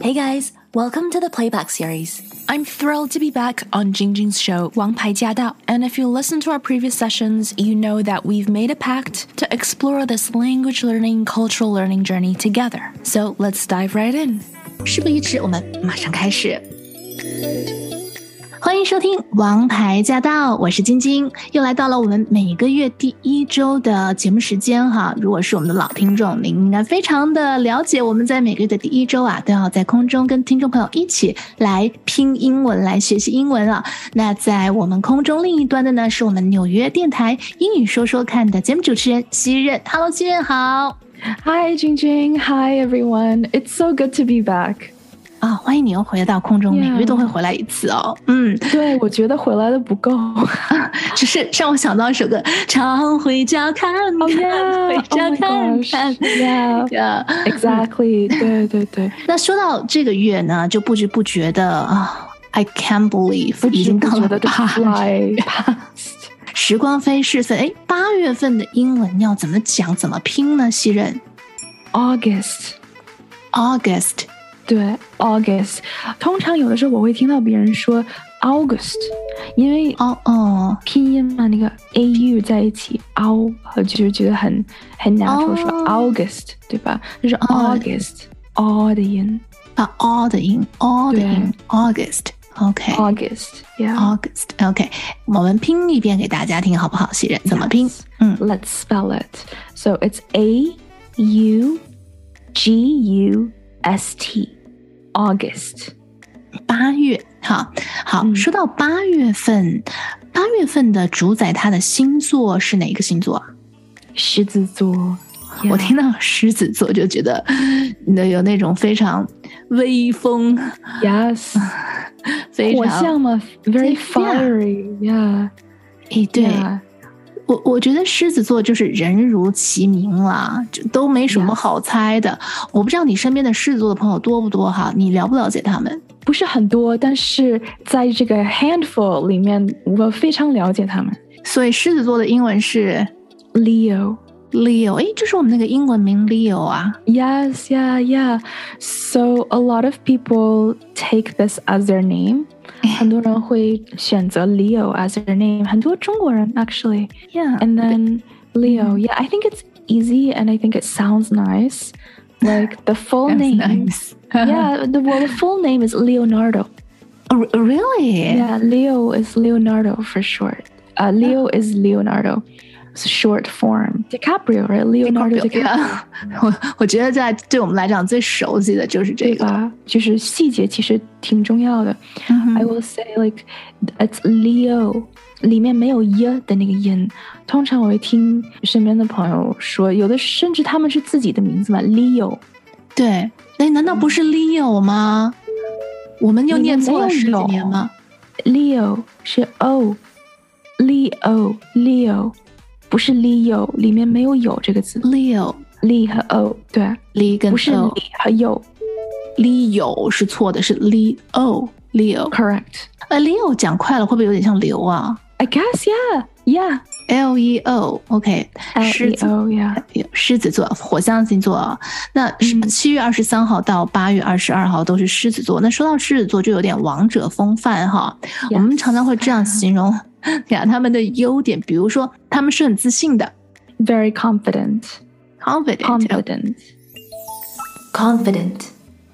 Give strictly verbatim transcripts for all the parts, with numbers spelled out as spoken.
Hey guys, welcome to the Playback series. I'm thrilled to be back on Jingjing's show, 王牌驾到. And if you listen to our previous sessions, you know that we've made a pact to explore this language learning, cultural learning journey together. So let's dive right in. 事不宜迟，我们马上开始。欢迎收听王牌驾到，我是晶晶，又来到了我们每个月第一周的节目时间哈。如果是我们的老听众，您应该非常的了解，我们在每个月的第一周啊，都要在空中跟听众朋友一起来拼英文，来学习英文啊。那在我们空中另一端的呢，是我们纽约电台英语说说看的节目主持人西任。Hello， 西任好。 Hi, Jingjing. Hi, everyone. It's so good to be back. 啊，欢迎你又回到空中， yeah. 每个月都会回来一次哦。嗯， 对，我觉得回来的不够， 只是让我想到一首歌，常回家看看， oh, yeah. 回家看看 oh yeah. Yeah. Exactly. 对对对。 那说到这个月呢，就不知不觉的啊 ，I can't believe 已经到了八月，时光飞逝分。哎，八月份的英文要怎么讲，怎么拼呢？西任 ，August，August。对 August 通常有的时候我会听到别人说 August 因为哦哦拼音嘛，那个 A U 在一起 Au 就是觉得很很 natural、oh. 说 August 对吧，就是 August、oh. O 的音啊 O 的音 O 的音 August OK August yeah August OK 我们拼一遍给大家听好不好，西任怎么拼、yes. 嗯 Let's spell it So it's A U G U S T August 八月好好、嗯、说到八月份八月份的主宰它的星座是哪个星座啊？ 狮子座、yeah. 我听到狮子座就觉得有那种非常威风 Yes 非常火象嘛 Very fiery Yeah 诶对、yeah.我我觉得狮子座就是人如其名啦，就都没什么好猜的。Yes. 我不知道你身边的狮子座的朋友多不多哈？你了不了解他们？ 不是很多，但是在这个 handful 里面，我非常了解他们。 所以狮子座的英文是 Leo。Leo， 诶，就是我们那个英文名 Leo 啊。 Yes, yeah, yeah. So a lot of people take this as their name.很多人会选择 Leo as their name 很多中国人 actually yeah and then Leo yeah I think it's easy and I think it sounds nice like the full name nice. yeah the, well, the full name is Leonardo oh, really yeah Leo is Leonardo for short uh, Leo oh. is Leonardo short form DiCaprio right Leonardo DiCaprio, DiCaprio. 我, 我觉得在对我们来讲最熟悉的就是这个， 对吧？就是细节其实挺重要的、mm-hmm. I will say like it's Leo 里面没有 y 的那个音，通常我会听身边的朋友说有的甚至他们是自己的名字嘛 Leo 对，那难道不是 Leo 吗、嗯、我们又念错了十几年吗？ Leo 是 O Leo Leo不是 Leo 里面没有有这个字 Leo Li 和 O 对 Li 跟 O 不是 Li 和有 Leo 是错的，是 Leo Leo Correct 呃 Leo 讲快了会不会有点像流啊？ I guess yeah Yeah L E O OK L E O yeah 狮子座火象星座那七月二十三号到八月二十二号都是狮子座、嗯、那说到狮子座就有点王者风范哈、yes. 我们常常会这样形容呀他们的优点，比如说他们是很自信的 Very confident Confident Confident Confident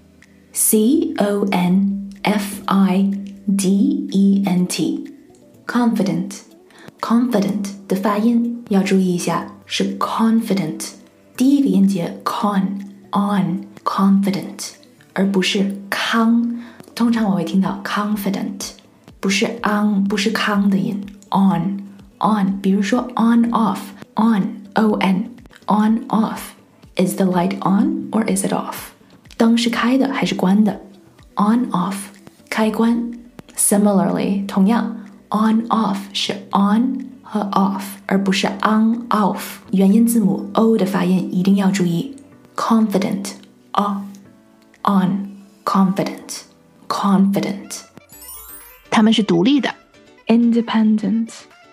C O N F I D E N T Confident Confident 的发音要注意一下，是 confident 第一个音节 con on confident 而不是康，通常我会听到 confident不是 on 不是康的音 on on 比如说 on off on O N on off Is the light on or is it off 灯是开的还是关的 on off 开关 Similarly 同样 on off 是 on 和 off 而不是 on off 元音字母 O 的发音一定要注意 confident off on confident confident 他们是独立的 Independent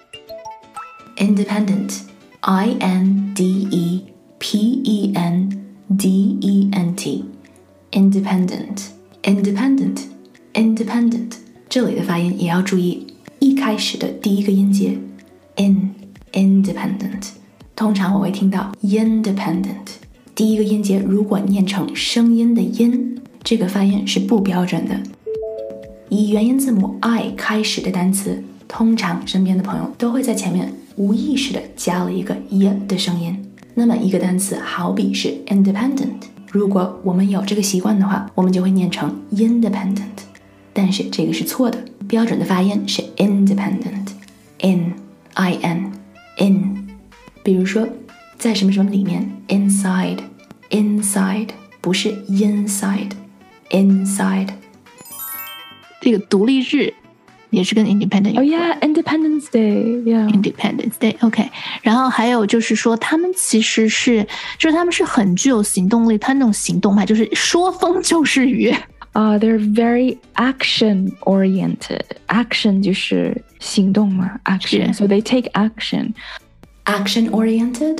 Independent I N D E P E N D E N T Independent independent independent 这里的发音也要注意，一开始的第一个音节 in independent， 通常我会听到 independent， 第一个音节如果念成声音的音，这个发音是不标准的。以元音字母 I 开始的单词，通常身边的朋友都会在前面无意识的加了一个 y 的声音。那么一个单词好比是 independent， 如果我们有这个习惯的话，我们就会念成 independent， 但是这个是错的，标准的发音是 independent in in in。 比如说在什么什么里面 inside inside 不是 inside inside。 这个独立日也是跟 independent 有关。 Oh yeah, Independence Day. Yeah, Independence Day. OK， 然后还有就是说，他们其实是，就是他们是很具有行动力，他那种行动派就是说风就是雨。 Uh, they're very action oriented. Action 就是行动嘛 ，action. So they take action. Action oriented,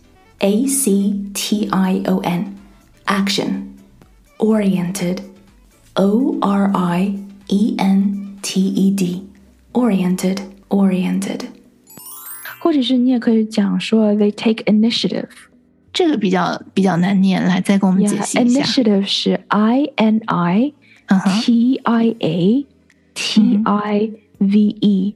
A C T I O N, action. Oriented, O R I E N T E D, oriented, oriented. 或者是你也可以讲说 they take initiative. 这个比较比较难念，来再给我们解析一下。 Yeah, initiative 是 I N I T I A T I V E,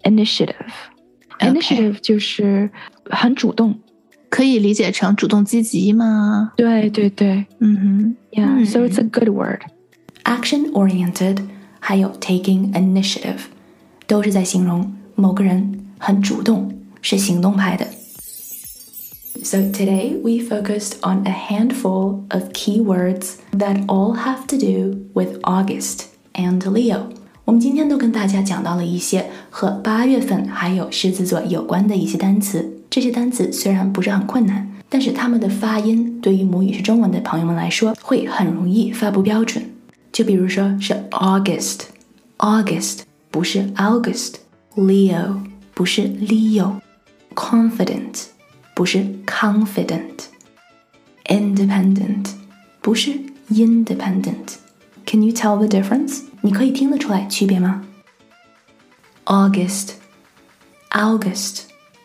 initiative。Initiative 就是很主动， 可以理解成主动积极吗？ 对对对， 嗯哼 Yeah, so it's a good word. Action oriented 还有 taking initiative 都是在形容某个人很主动，是行动派的。So today we focused on a handful of keywords that all have to do with August and Leo. 我们今天都跟大家讲到了一些和八月份还有狮子座有关的一些单词。这些单词虽然不是很困难，但是它们的发音对于母语是中文的朋友们来说会很容易发不标准。就比如说是 August August 不是 August， Leo 不是 Leo， Confident 不是 confident， Independent 不是 independent。 Can you tell the difference？ 你可以听得出来区别吗？ August August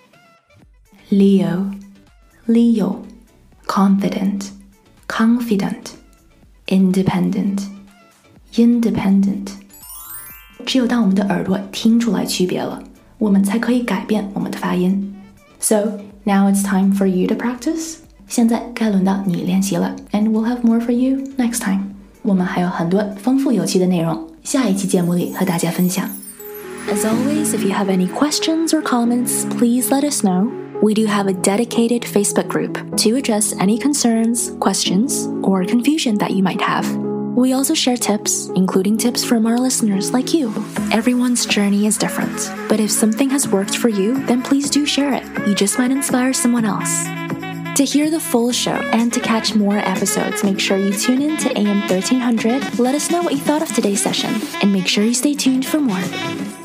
Leo Leo Confident Confident Independent Independent。 只有当我们的耳朵听出来区别了，我们才可以改变我们的发音。 So now it's time for you to practice. 现在该轮到你练习了 And we'll have more for you next time. 我们还有很多丰富有趣的内容，下一期节目里和大家分享。 As always, if you have any questions or comments, please let us know. We do have a dedicated Facebook group to address any concerns, questions, or confusion that you might have. We also share tips, including tips from our listeners like you. Everyone's journey is different, but if something has worked for you, then please do share it. You just might inspire someone else. To hear the full show and to catch more episodes, make sure you tune in to A M thirteen hundred. Let us know what you thought of today's session, and make sure you stay tuned for more.